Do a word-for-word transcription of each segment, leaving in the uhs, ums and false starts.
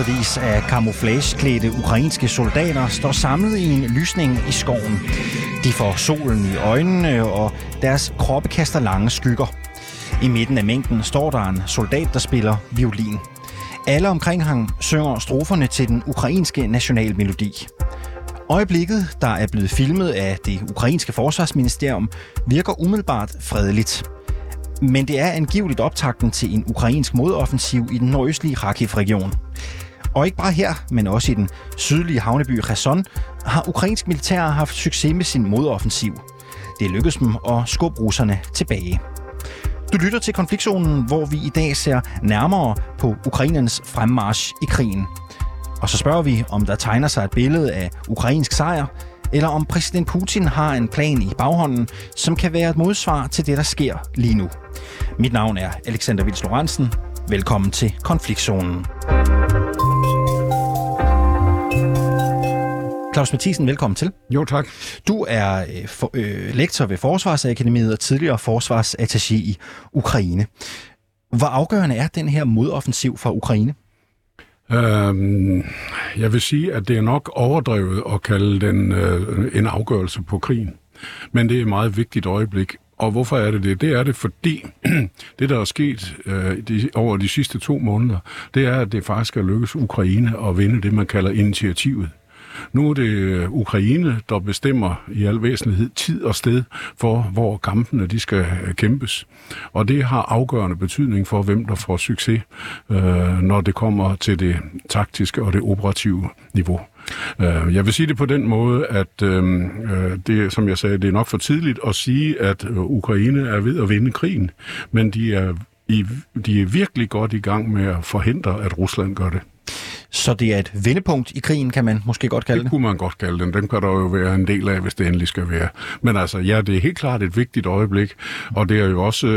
Hundredvis af camouflageklædte ukrainske soldater står samlet i en lysning i skoven. De får solen i øjnene, og deres kroppe kaster lange skygger. I midten af mængden står der en soldat, der spiller violin. Alle omkring ham synger stroferne til den ukrainske nationalmelodi. Øjeblikket, der er blevet filmet af det ukrainske forsvarsministerium, virker umiddelbart fredeligt. Men det er angiveligt optakten til en ukrainsk modoffensiv i den nordøstlige Kharkiv-region. Og ikke bare her, men også i den sydlige havneby Kherson, har ukrainsk militær haft succes med sin modoffensiv. Det lykkedes dem at skubbe russerne tilbage. Du lytter til Konfliktzonen, hvor vi i dag ser nærmere på ukrainernes fremmarch i krigen. Og så spørger vi, om der tegner sig et billede af ukrainsk sejr, eller om præsident Putin har en plan i baghånden, som kan være et modsvar til det, der sker lige nu. Mit navn er Alexander Vils Lorentzen. Velkommen til Konfliktzonen. Claus Mathisen, velkommen til. Jo, tak. Du er øh, for, øh, lektor ved Forsvarsakademiet og tidligere forsvarsattaché i Ukraine. Hvor afgørende er den her modoffensiv for Ukraine? Øhm, jeg vil sige, at det er nok overdrevet at kalde den øh, en afgørelse på krigen. Men det er et meget vigtigt øjeblik. Og hvorfor er det det? Det er det, fordi det, der er sket øh, de, over de sidste to måneder, det er, at det faktisk er lykkedes Ukraine at vinde det, man kalder initiativet. Nu er det Ukraine, der bestemmer i al væsentlighed tid og sted for, hvor kampene de skal kæmpes. Og det har afgørende betydning for, hvem der får succes, øh, når det kommer til det taktiske og det operative niveau. Jeg vil sige det på den måde, at øh, det, som jeg sagde, det er nok for tidligt at sige, at Ukraine er ved at vinde krigen, men de er, i, de er virkelig godt i gang med at forhindre, at Rusland gør det. Så det er et vendepunkt i krigen, kan man måske godt kalde det? Det kunne man godt kalde den. Den kan der jo være en del af, hvis det endelig skal være. Men altså, ja, det er helt klart et vigtigt øjeblik, og det er jo også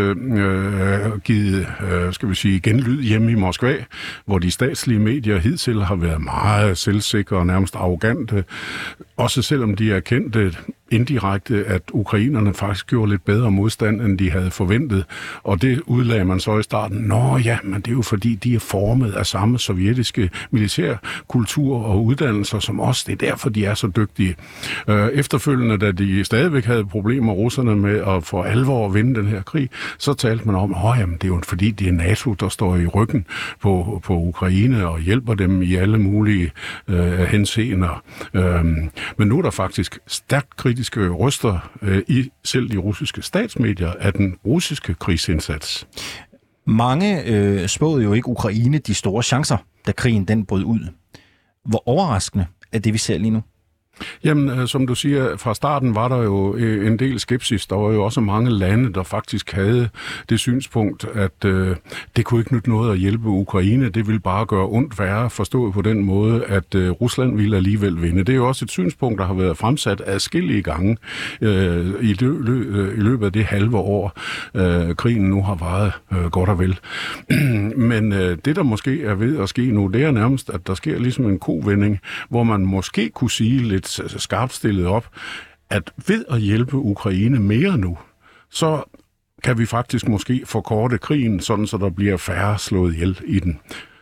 øh, givet, øh, skal vi sige, genlyd hjemme i Moskva, hvor de statslige medier hidtil har været meget selvsikre og nærmest arrogante, også selvom de er kendte indirekte, at ukrainerne faktisk gjorde lidt bedre modstand, end de havde forventet. Og det udlagde man så i starten. Nå ja, men det er jo fordi, de er formet af samme sovjetiske militærkultur og uddannelser som os. Det er derfor, de er så dygtige. Efterfølgende, da de stadigvæk havde problemer, russerne, med at for alvor at vinde den her krig, så talte man om, at det er jo fordi, det er NATO, der står i ryggen på, på Ukraine og hjælper dem i alle mulige øh, henseender. Øhm, men nu er der faktisk stærkt kritisk røster øh, i selv de russiske statsmedier af den russiske krigsindsats. Mange øh, spåede jo ikke Ukraine de store chancer, da krigen den brød ud. Hvor overraskende er det, vi ser lige nu? Jamen, som du siger, fra starten var der jo en del skepsis. Der var jo også mange lande, der faktisk havde det synspunkt, at øh, det kunne ikke nytte noget at hjælpe Ukraine. Det ville bare gøre ondt værre, forstået på den måde, at øh, Rusland ville alligevel vinde. Det er jo også et synspunkt, der har været fremsat adskillige gange øh, i, lø- lø- i løbet af det halve år, øh, krigen nu har varet øh, godt og vel. Men øh, det, der måske er ved at ske nu, det er nærmest, at der sker ligesom en kovending, hvor man måske kunne sige lidt skarpt stillet op, at ved at hjælpe Ukraine mere nu, så kan vi faktisk måske forkorte krigen, sådan så der bliver færre slået ihjel i den.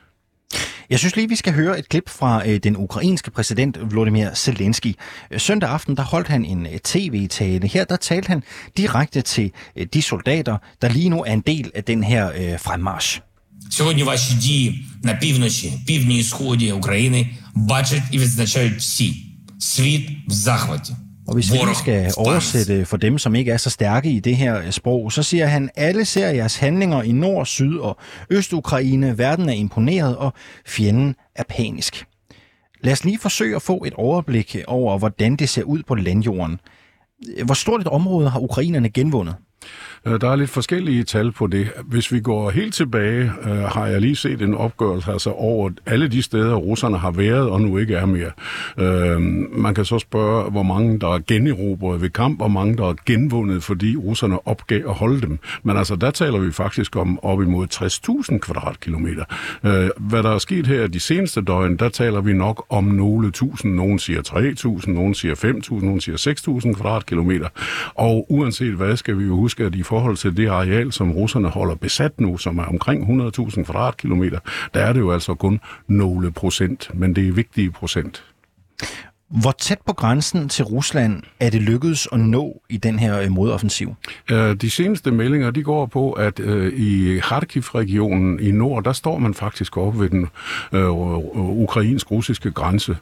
Jeg synes lige, vi skal høre et klip fra øh, den ukrainske præsident Volodymyr Zelensky. Søndag aften, der holdt han en øh, tv-tale. Her, der talte han direkte til øh, de soldater, der lige nu er en del af den her øh, fremmarch. Сьогодні ваші дії на півночі, півдні і сході України бачать і відзначають всі. Світ в захваті. Og hvis vi skal oversætte for dem, som ikke er så stærke i det her sprog, så siger han, alle ser jeres handlinger i Nord, Syd og Øst-Ukraine. Verden er imponeret, og fjenden er panisk. Lad os lige forsøge at få et overblik over, hvordan det ser ud på landjorden. Hvor stort et område har ukrainerne genvundet? Der er lidt forskellige tal på det. Hvis vi går helt tilbage, øh, har jeg lige set en opgørelse altså over alle de steder, russerne har været og nu ikke er mere. Øh, man kan så spørge, hvor mange der er generobret ved kamp, og hvor mange der er genvundet, fordi russerne opgav at holde dem. Men altså, der taler vi faktisk om op imod tres tusind kvadratkilometer. Øh, hvad der er sket her de seneste døgn, der taler vi nok om nogle tusind. Nogen siger tre tusind, nogen siger fem tusind, nogen siger seks tusind kvadratkilometer. Og uanset hvad, skal vi jo huske, at i for forhold til det areal, som russerne holder besat nu, som er omkring hundrede tusind kvadratkilometer, der er det jo altså kun nogle procent, men det er vigtige procent. Hvor tæt på grænsen til Rusland er det lykkedes at nå i den her modoffensiv? De seneste meldinger, de går på, at i Kharkiv-regionen i nord, der står man faktisk oppe ved den øh, ukrainsk-russiske grænse.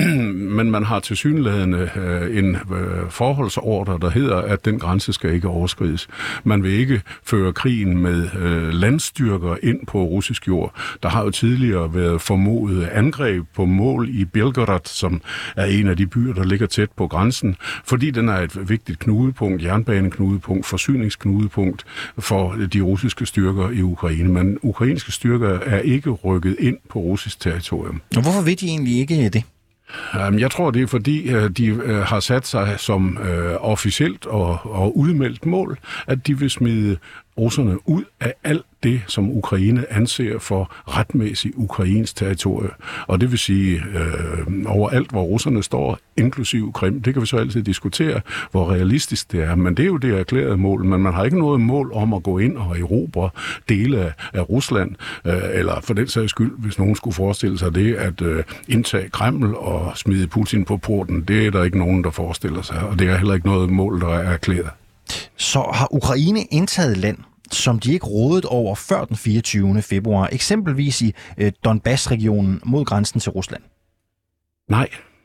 Men man har tilsyneladende en forholdsordre, der hedder, at den grænse skal ikke overskrides. Man vil ikke føre krigen med landstyrker ind på russisk jord. Der har jo tidligere været formodet angreb på mål i Belgorod, som er en af de byer, der ligger tæt på grænsen, fordi den er et vigtigt knudepunkt, jernbaneknudepunkt, forsyningsknudepunkt for de russiske styrker i Ukraine. Men ukrainske styrker er ikke rykket ind på russisk territorium. Og hvorfor vil de egentlig ikke det? Jeg tror, det er fordi, de har sat sig som officielt og, og udmeldt mål, at de vil smide russerne ud af alt det, som Ukraine anser for retmæssigt ukrainsk territorie. Og det vil sige øh, overalt, hvor russerne står, inklusiv Krim. Det kan vi så altid diskutere, hvor realistisk det er. Men det er jo det erklærede mål. Men man har ikke noget mål om at gå ind og erobre dele af, af Rusland. Øh, eller for den sags skyld, hvis nogen skulle forestille sig det, at øh, indtage Kreml og smide Putin på porten. Det er der ikke nogen, der forestiller sig. Og det er heller ikke noget mål, der er erklæret. Så har Ukraine indtaget land, som de ikke rådede over før den fireogtyvende februar, eksempelvis i øh, Donbass-regionen mod grænsen til Rusland? Nej,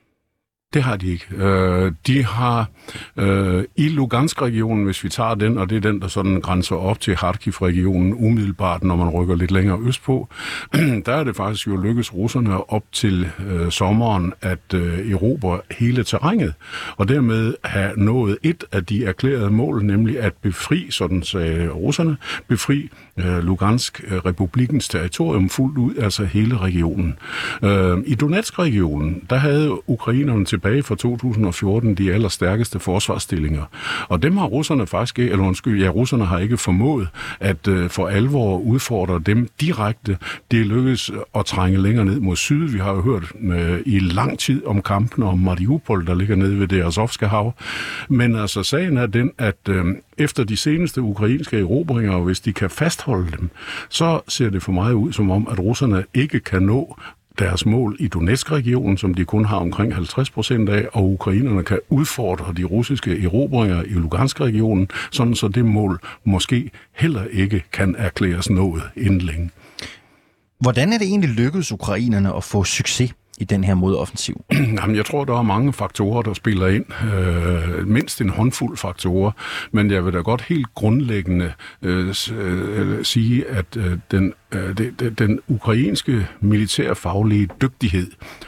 det har de ikke. Øh, de har øh, i Lugansk-regionen, hvis vi tager den, og det er den, der sådan grænser op til Kharkiv-regionen umiddelbart, når man rykker lidt længere østpå, der er det faktisk jo lykkes russerne op til øh, sommeren at øh, erobre hele terrænet, og dermed have nået et af de erklærede mål, nemlig at befri, sådan sagde russerne, befri øh, Lugansk-republikens territorium fuldt ud, altså hele regionen. Øh, I Donetsk-regionen, der havde ukrainerne tilbage fra to tusind og fjorten de allerstærkeste forsvarsstillinger. Og dem har russerne faktisk ikke, eller undskyld, ja, russerne har ikke formået at uh, for alvor udfordre dem direkte. Det er lykkedes at trænge længere ned mod syd. Vi har jo hørt uh, i lang tid om kampene om Mariupol, der ligger nede ved det Azovske hav. Men altså, sagen er den, at uh, efter de seneste ukrainske erobringer, hvis de kan fastholde dem, så ser det for mig ud som om, at russerne ikke kan nå deres mål i Donetsk-regionen, som de kun har omkring halvtreds procent af, og ukrainerne kan udfordre de russiske erobringer i Lugansk-regionen, sådan så det mål måske heller ikke kan erklæres nået inden længe. Hvordan er det egentlig lykkedes ukrainerne at få succes i den her modoffensiv? Jamen, jeg tror, der er mange faktorer, der spiller ind. Øh, mindst en håndfuld faktorer. Men jeg vil da godt helt grundlæggende øh, øh, sige, at øh, den, øh, det, den ukrainske militærfaglige dygtighed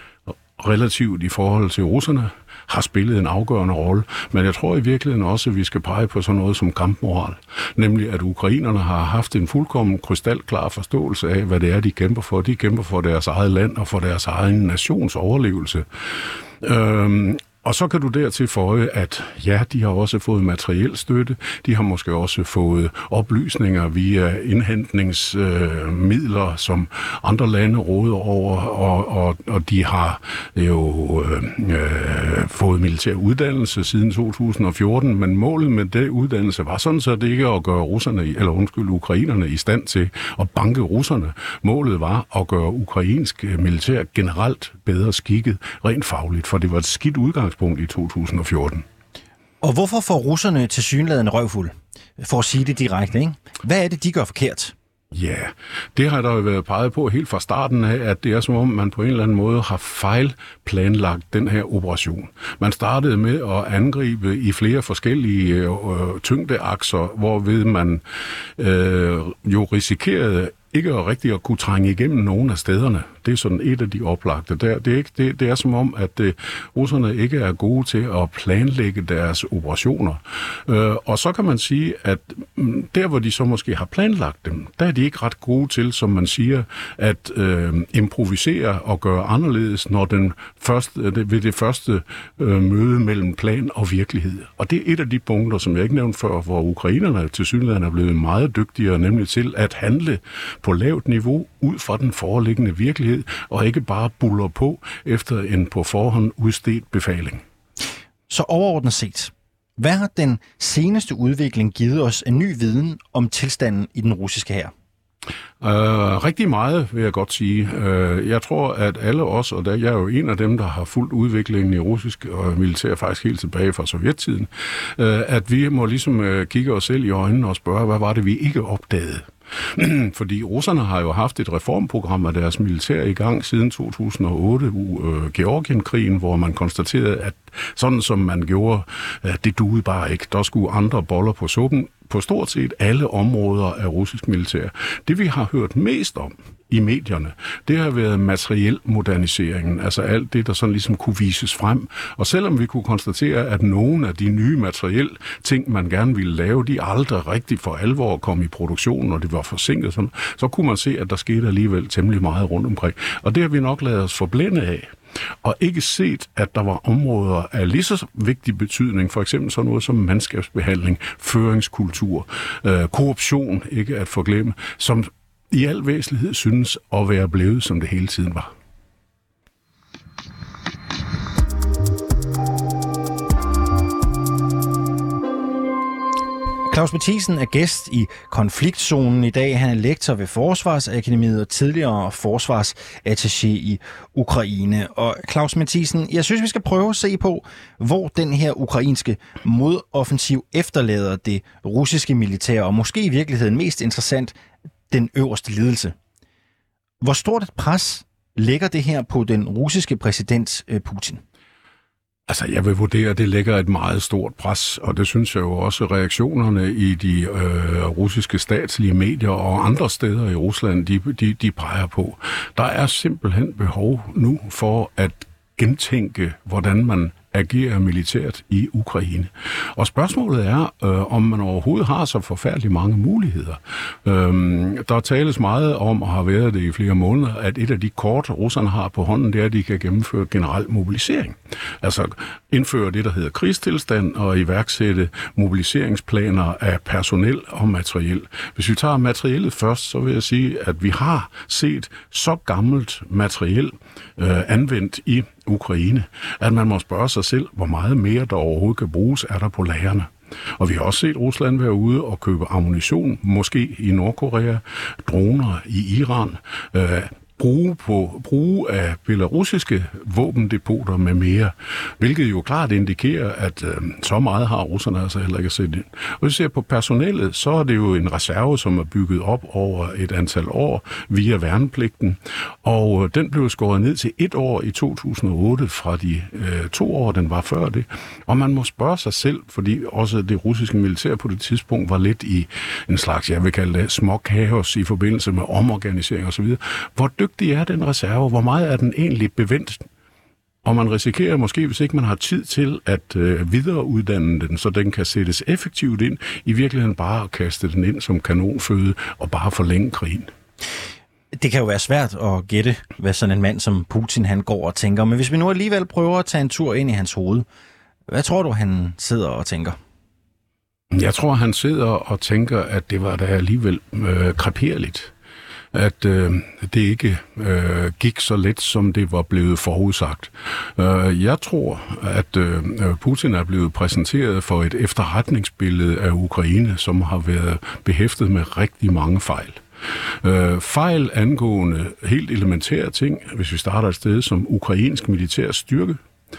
relativt i forhold til russerne har spillet en afgørende rolle. Men jeg tror i virkeligheden også, at vi skal pege på sådan noget som kampmoral. Nemlig, at ukrainerne har haft en fuldkommen krystalklar forståelse af, hvad det er, de kæmper for. De kæmper for deres eget land og for deres egen nations overlevelse. Øhm, Og så kan du dertil føje, at ja, de har også fået materiel støtte. De har måske også fået oplysninger via indhentningsmidler, øh, som andre lande råder over, og, og, og de har jo øh, fået militær uddannelse siden to tusind og fjorten, men målet med den uddannelse var sådan, så det ikke at gøre russerne, eller undskyld, ukrainerne i stand til at banke russerne. Målet var at gøre ukrainsk militær generelt bedre skikket, rent fagligt, for det var et skidt udgangspunkt i to tusind og fjorten. Og hvorfor får russerne tilsyneladende røvfuld? For at sige det direkte, ikke? Hvad er det, de gør forkert? Ja, det har der jo været peget på helt fra starten af, at det er som om, man på en eller anden måde har fejlplanlagt den her operation. Man startede med at angribe i flere forskellige øh, tyngdeakser, hvorved man øh, jo risikerede ikke at rigtig at kunne trænge igennem nogle af stederne. Det er sådan et af de oplagte. Der, det, er ikke, det, det er som om, at det, russerne ikke er gode til at planlægge deres operationer. Øh, og så kan man sige, at der, hvor de så måske har planlagt dem, der er de ikke ret gode til, som man siger, at øh, improvisere og gøre anderledes, når den første, ved det første øh, møde mellem plan og virkelighed. Og det er et af de punkter, som jeg ikke nævnte før, hvor ukrainerne til synligheden er blevet meget dygtigere, nemlig til at handle på lavt niveau ud fra den foreliggende virkelighed, og ikke bare buller på efter en på forhånd udstedt befaling. Så overordnet set, Hvad har den seneste udvikling givet os en ny viden om tilstanden i den russiske hær? Uh, rigtig meget, vil jeg godt sige. Uh, jeg tror, at alle os, og der, jeg er jo en af dem, der har fulgt udviklingen i russisk og militær faktisk helt tilbage fra sovjettiden, uh, at vi må ligesom uh, kigge os selv i øjnene og spørge, hvad var det, vi ikke opdagede? Fordi russerne har jo haft et reformprogram af deres militær i gang siden to tusind og otte, uh, Georgienkrigen, hvor man konstaterede, at sådan som man gjorde, uh, det duede bare ikke. Der skulle andre boller på suppen på stort set alle områder af russisk militær. Det vi har hørt mest om i medierne, det har været materiel moderniseringen, altså alt det, der sådan ligesom kunne vises frem. Og selvom vi kunne konstatere, at nogle af de nye materielle ting, man gerne ville lave, de aldrig rigtig for alvor kom i produktion, og det var forsinket, sådan, så kunne man se, at der skete alligevel temmelig meget rundt omkring. Og det har vi nok ladet os forblænde af. Og ikke set, at der var områder af lige så vigtig betydning, for eksempel sådan noget som mandskabsbehandling, føringskultur, øh, korruption, ikke at forglemme, som i al væsentlighed synes at være blevet, som det hele tiden var. Claus Mathisen er gæst i Konfliktzonen i dag. Han er lektor ved Forsvarsakademiet og tidligere forsvarsattaché i Ukraine. Og Claus Mathisen, jeg synes, vi skal prøve at se på, hvor den her ukrainske modoffensiv efterlader det russiske militær, og måske i virkeligheden mest interessant, den øverste ledelse. Hvor stort et pres lægger det her på den russiske præsident Putin? Altså, jeg vil vurdere, at det lægger et meget stort pres, og det synes jeg jo også, reaktionerne i de øh, russiske statslige medier og andre steder i Rusland, de, de, de peger på. Der er simpelthen behov nu for at gentænke, hvordan man agerer militært i Ukraine. Og spørgsmålet er, øh, om man overhovedet har så forfærdeligt mange muligheder. Øhm, der tales meget om, og har været det i flere måneder, at et af de kort, russerne har på hånden, det er, at de kan gennemføre generel mobilisering. Altså indføre det, der hedder krigstilstand, og iværksætte mobiliseringsplaner af personel og materiel. Hvis vi tager materiellet først, så vil jeg sige, at vi har set så gammelt materiel øh, anvendt i Ukraine, at man må spørge sig selv, hvor meget mere der overhovedet kan bruges, er der på lagrene. Og vi har også set Rusland være ude og købe ammunition, måske i Nordkorea, droner i Iran, øh, bruge, på, bruge af belarusiske våbendepoter med mere, hvilket jo klart indikerer, at øh, så meget har russerne altså heller ikke set ind. Og hvis vi ser på personellet, så er det jo en reserve, som er bygget op over et antal år via værnepligten, og øh, den blev skåret ned til et år i to tusind og otte fra de øh, to år, den var før det. Og man må spørge sig selv, fordi også det russiske militær på det tidspunkt var lidt i en slags, jeg vil kalde det, små kaos i forbindelse med omorganisering osv., hvor dygtig er den reserve? Hvor meget er den egentlig bevendt? Og man risikerer måske, hvis ikke man har tid til at øh, videreuddanne den, så den kan sættes effektivt ind, i virkeligheden bare at kaste den ind som kanonføde og bare forlænge krigen. Det kan jo være svært at gætte, hvad sådan en mand som Putin han går og tænker. Men hvis vi nu alligevel prøver at tage en tur ind i hans hoved, hvad tror du, han sidder og tænker? Jeg tror, han sidder og tænker, at det var da alligevel øh, kreperligt. At øh, det ikke øh, gik så let, som det var blevet forudsagt. Øh, jeg tror, at øh, Putin er blevet præsenteret for et efterretningsbillede af Ukraine, som har været behæftet med rigtig mange fejl. Øh, fejl angående helt elementære ting, hvis vi starter et sted som ukrainsk militær styrke,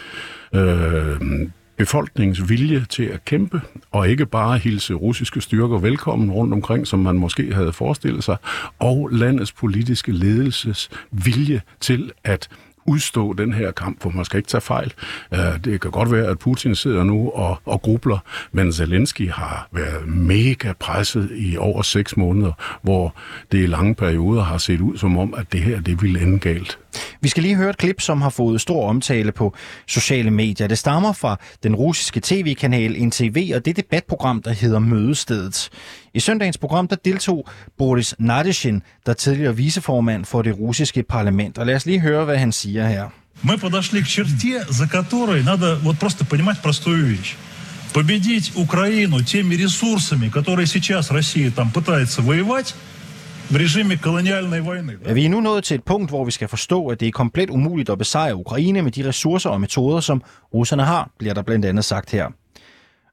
øh, befolkningens vilje til at kæmpe, og ikke bare hilse russiske styrker velkommen rundt omkring, som man måske havde forestillet sig, og landets politiske ledelses vilje til at udstå den her kamp, for man skal ikke tage fejl. Det kan godt være, at Putin sidder nu og, og grubler, men Zelensky har været mega presset i over seks måneder, hvor det i lange perioder har set ud som om, at det her, det ville ende galt. Vi skal lige høre et klip, som har fået stor omtale på sociale medier. Det stammer fra den russiske tv-kanal N T V, og det debatprogram, der hedder Mødestedet. I søndagens program, der deltog Boris Nadezhdin, der tidligere viceformand for det russiske parlament. Og lad os lige høre, hvad han siger her. Мы подошли к черте, за которой надо вот просто понимать простую вещь. Победить Украину теми ресурсами, которые сейчас Россия там пытается воевать, в режиме колониальной войны. Ja, vi er nu nået til et punkt, hvor vi skal forstå, at det er komplet umuligt at besejre Ukraine med de ressourcer og metoder, som russerne har, bliver der blandt andet sagt her.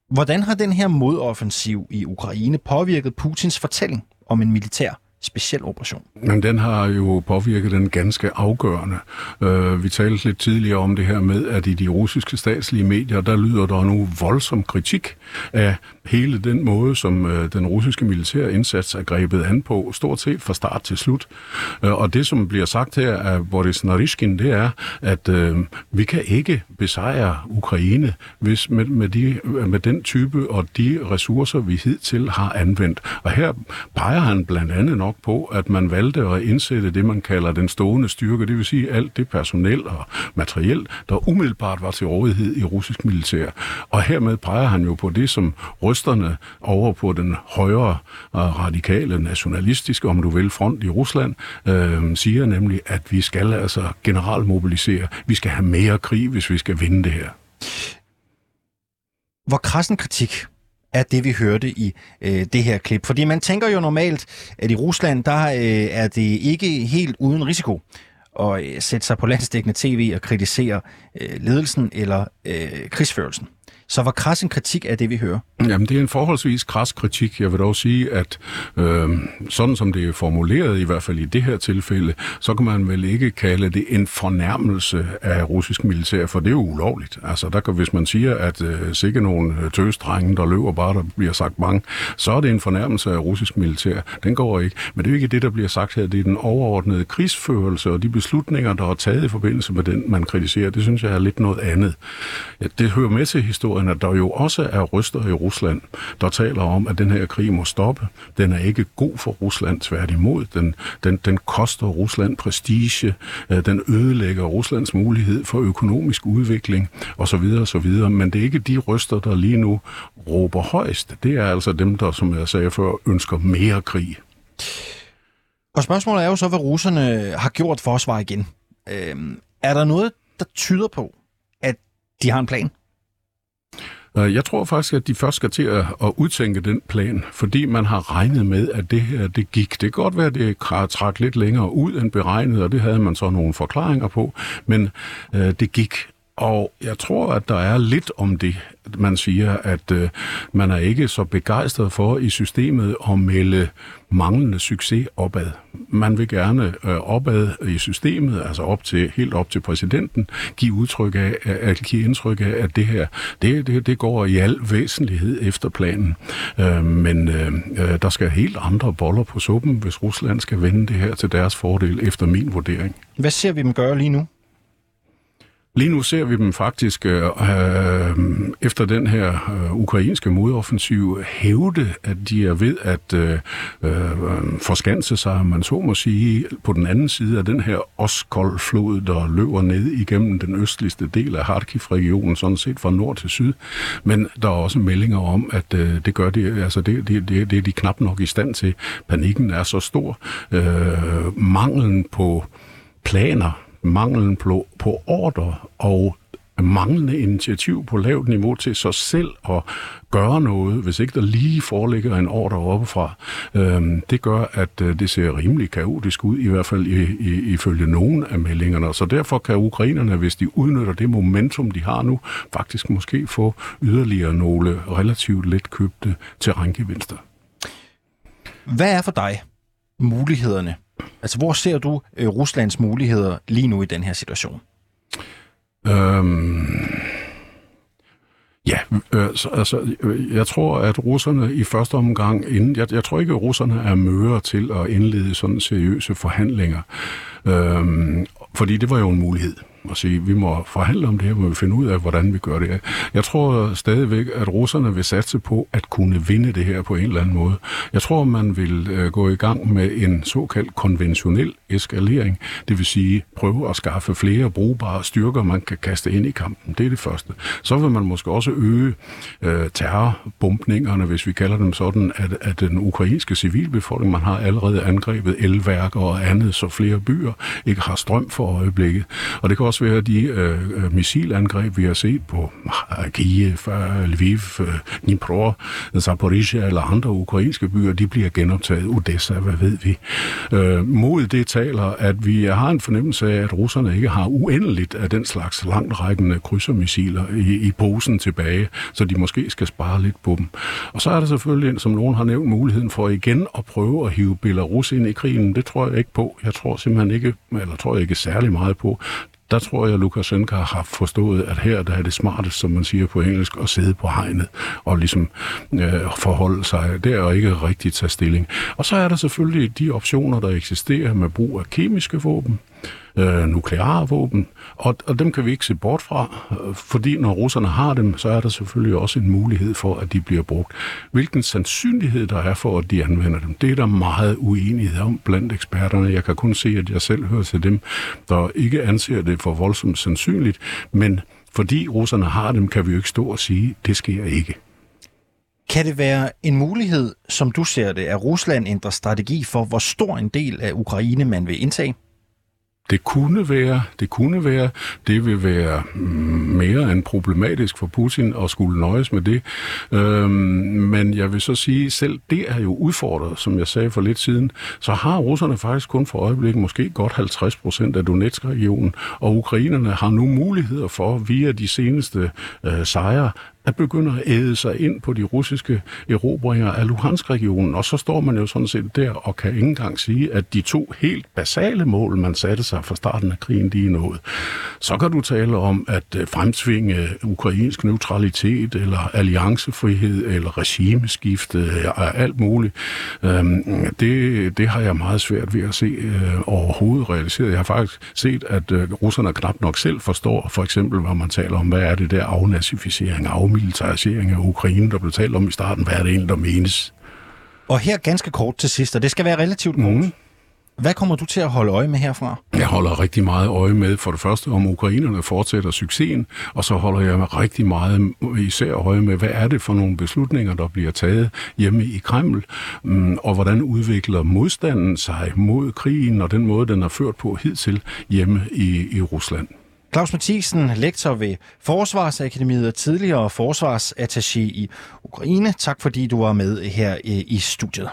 Hvordan har den her modoffensiv i Ukraine påvirket Putins fortælling om en militær speciel operation? Men den har jo påvirket den ganske afgørende. Uh, vi talte lidt tidligere om det her med, at i de russiske statslige medier, der lyder der nu voldsom kritik af hele den måde, som uh, den russiske militære indsats er grebet an på, stort set fra start til slut. Uh, og det, som bliver sagt her af Boris Naryshkin, det er, at uh, vi kan ikke besejre Ukraine hvis med, med, de, med den type og de ressourcer, vi hidtil har anvendt. Og her peger han blandt andet nok på, at man valgte at indsætte det, man kalder den stående styrke, det vil sige alt det personel og materiel, der umiddelbart var til rådighed i russisk militær. Og hermed peger han jo på det, som rysterne over på den højre radikale, nationalistiske, om du vil, front i Rusland, øh, siger nemlig, at vi skal altså generalmobilisere. Vi skal have mere krig, hvis vi skal vinde det her. Hvor krassen kritik er det, vi hørte i øh, det her klip? Fordi man tænker jo normalt, at i Rusland, der øh, er det ikke helt uden risiko at øh, sætte sig på landsdækkende tv og kritisere øh, ledelsen eller øh, krigsførelsen. Så hvor krass en kritik er det, vi hører? Jamen, det er en forholdsvis krass kritik. Jeg vil dog sige, at øh, sådan som det er formuleret, i hvert fald i det her tilfælde, så kan man vel ikke kalde det en fornærmelse af russisk militær, for det er jo ulovligt. Altså, der kan, hvis man siger, at øh, sikke nogle tøsdrenge, der løber bare, der bliver sagt mange, så er det en fornærmelse af russisk militær. Den går ikke. Men det er jo ikke det, der bliver sagt her. Det er den overordnede krigsførelse og de beslutninger, der er taget i forbindelse med den, man kritiserer. Det synes jeg er lidt noget andet. Ja, det hører med til historien, at der jo også er røster i Rusland, der taler om, at den her krig må stoppe. Den er ikke god for Rusland, tværtimod. Den, den, den koster Rusland prestige, den ødelægger Ruslands mulighed for økonomisk udvikling osv. osv. Men det er ikke de røster, der lige nu råber højst. Det er altså dem, der, som jeg sagde før, ønsker mere krig. Og spørgsmålet er jo så, hvad russerne har gjort for at svare igen. Øhm, er der noget, der tyder på, at de har en plan? Jeg tror faktisk, at de først skal til at udtænke den plan, fordi man har regnet med, at det her det gik. Det kan godt være, at det trak lidt længere ud end beregnet, og det havde man så nogle forklaringer på, men øh, det gik. Og jeg tror, at der er lidt om det, man siger, at øh, man er ikke så begejstret for i systemet at melde manglende succes opad. Man vil gerne øh, opad i systemet, altså op til, helt op til præsidenten, give udtryk af, at give indtryk af, at det her, det, det, det går i al væsentlighed efter planen. Øh, men øh, der skal helt andre boller på suppen, hvis Rusland skal vende det her til deres fordel, efter min vurdering. Hvad ser vi dem gøre lige nu? Lige nu ser vi dem faktisk øh, efter den her øh, ukrainske modoffensiv hævde, at de er ved at øh, øh, forskanse sig, man så må sige, på den anden side af den her Oskol-flod, der løber ned igennem den østligste del af Kharkiv-regionen, sådan set fra nord til syd. Men der er også meldinger om, at øh, det gør de, altså det, det, det, det er de knap nok i stand til. Panikken er så stor. Øh, manglen på planer, manglen på, på ordre og manglende initiativ på lavt niveau til sig selv at gøre noget, hvis ikke der lige foreligger en ordre oppefra. Øhm, det gør, at øh, det ser rimelig kaotisk ud, i hvert fald i, i, ifølge nogle af meldingerne. Så derfor kan ukrainerne, hvis de udnytter det momentum, de har nu, faktisk måske få yderligere nogle relativt let købte terrængevinster. Hvad er for dig mulighederne? Altså, hvor ser du øh, Ruslands muligheder lige nu i den her situation? Øhm, ja, øh, så, altså, jeg tror, at russerne i første omgang, inden, jeg, jeg tror ikke, at russerne er møre til at indlede sådan seriøse forhandlinger, øhm, fordi det var jo en mulighed. Og sige, vi må forhandle om det her, må vi finde ud af, hvordan vi gør det. Jeg tror stadigvæk, at russerne vil satse på at kunne vinde det her på en eller anden måde. Jeg tror, man vil øh, gå i gang med en såkaldt konventionel eskalering, det vil sige prøve at skaffe flere brugbare styrker, man kan kaste ind i kampen. Det er det første. Så vil man måske også øge øh, terrorbombningerne, hvis vi kalder dem sådan, at, at den ukrainske civilbefolkning, man har allerede angrebet elværker og andet, så flere byer ikke har strøm for øjeblikket. Og det kan også også være de øh, missilangreb, vi har set på Kiev, Lviv, Dnipro, Zaporizhia eller andre ukrainske byer, de bliver genoptaget. Odessa, hvad ved vi? Øh, mod det taler, at vi har en fornemmelse af, at russerne ikke har uendeligt af den slags langtrækkende krydsermissiler i, i posen tilbage, så de måske skal spare lidt på dem. Og så er der selvfølgelig, som nogen har nævnt, muligheden for igen at prøve at hive Belarus ind i krigen. Det tror jeg ikke på. Jeg tror simpelthen ikke, eller tror jeg ikke særlig meget på. Der tror jeg, at Lukashenko har forstået, at her der er det smartest, som man siger på engelsk, at sidde på hegnet og ligesom øh, forholde sig der og ikke rigtig tage stilling. Og så er der selvfølgelig de optioner, der eksisterer med brug af kemiske våben, øh, nukleare våben, og, og dem kan vi ikke se bort fra, fordi når russerne har dem, så er der selvfølgelig også en mulighed for, at de bliver brugt. Hvilken sandsynlighed der er for, at de anvender dem, det er der meget uenighed om blandt eksperterne. Jeg kan kun se, at jeg selv hører til dem, der ikke anser det for voldsomt sandsynligt, men fordi russerne har dem, kan vi jo ikke stå og sige, at det sker ikke. Kan det være en mulighed, som du ser det, at Rusland ændrer strategi for, hvor stor en del af Ukraine man vil indtage? Det kunne være, det kunne være, det vil være mere end problematisk for Putin at skulle nøjes med det. Øhm, men jeg vil så sige, selv det er jo udfordret, som jeg sagde for lidt siden. Så har russerne faktisk kun for øjeblikket måske godt halvtreds procent af Donetsk-regionen, og ukrainerne har nu muligheder for, via de seneste øh, sejre, at begynde at æde sig ind på de russiske erobringer af Luhansk-regionen. Og så står man jo sådan set der og kan ikke engang sige, at de to helt basale mål, man satte sig fra starten af krigen, de er nået. Så kan du tale om at fremtvinge ukrainsk neutralitet, eller alliancefrihed, eller regimeskifte, og alt muligt. Det, det har jeg meget svært ved at se overhovedet realiseret. Jeg har faktisk set, at russerne knap nok selv forstår, for eksempel, hvor man taler om, hvad er det der afnazificering, af militarisering af Ukraine, der blev talt om i starten. Hvad er det egentlig, der menes? Og her ganske kort til sidst, og det skal være relativt kort. Mm. Hvad kommer du til at holde øje med herfra? Jeg holder rigtig meget øje med, for det første, om ukrainerne fortsætter succesen, og så holder jeg rigtig meget især øje med, hvad er det for nogle beslutninger, der bliver taget hjemme i Kreml, og hvordan udvikler modstanden sig mod krigen, og den måde, den er ført på hidtil hjemme i, i Rusland. Claus Mathiesen, lektor ved Forsvarsakademiet og tidligere forsvarsattaché i Ukraine. Tak fordi du var med her i studiet.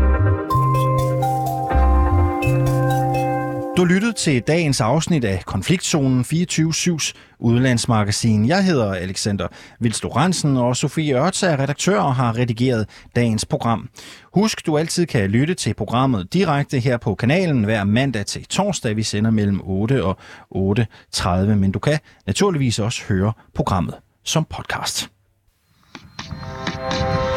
Du lyttede til dagens afsnit af Konfliktzonen fireogtyve syvs udlandsmagasin. Jeg hedder Alexander Vilst Lorentzen, og Sofie Ørts er redaktør og har redigeret dagens program. Husk, du altid kan lytte til programmet direkte her på kanalen hver mandag til torsdag. Vi sender mellem otte og otte tredive, men du kan naturligvis også høre programmet som podcast.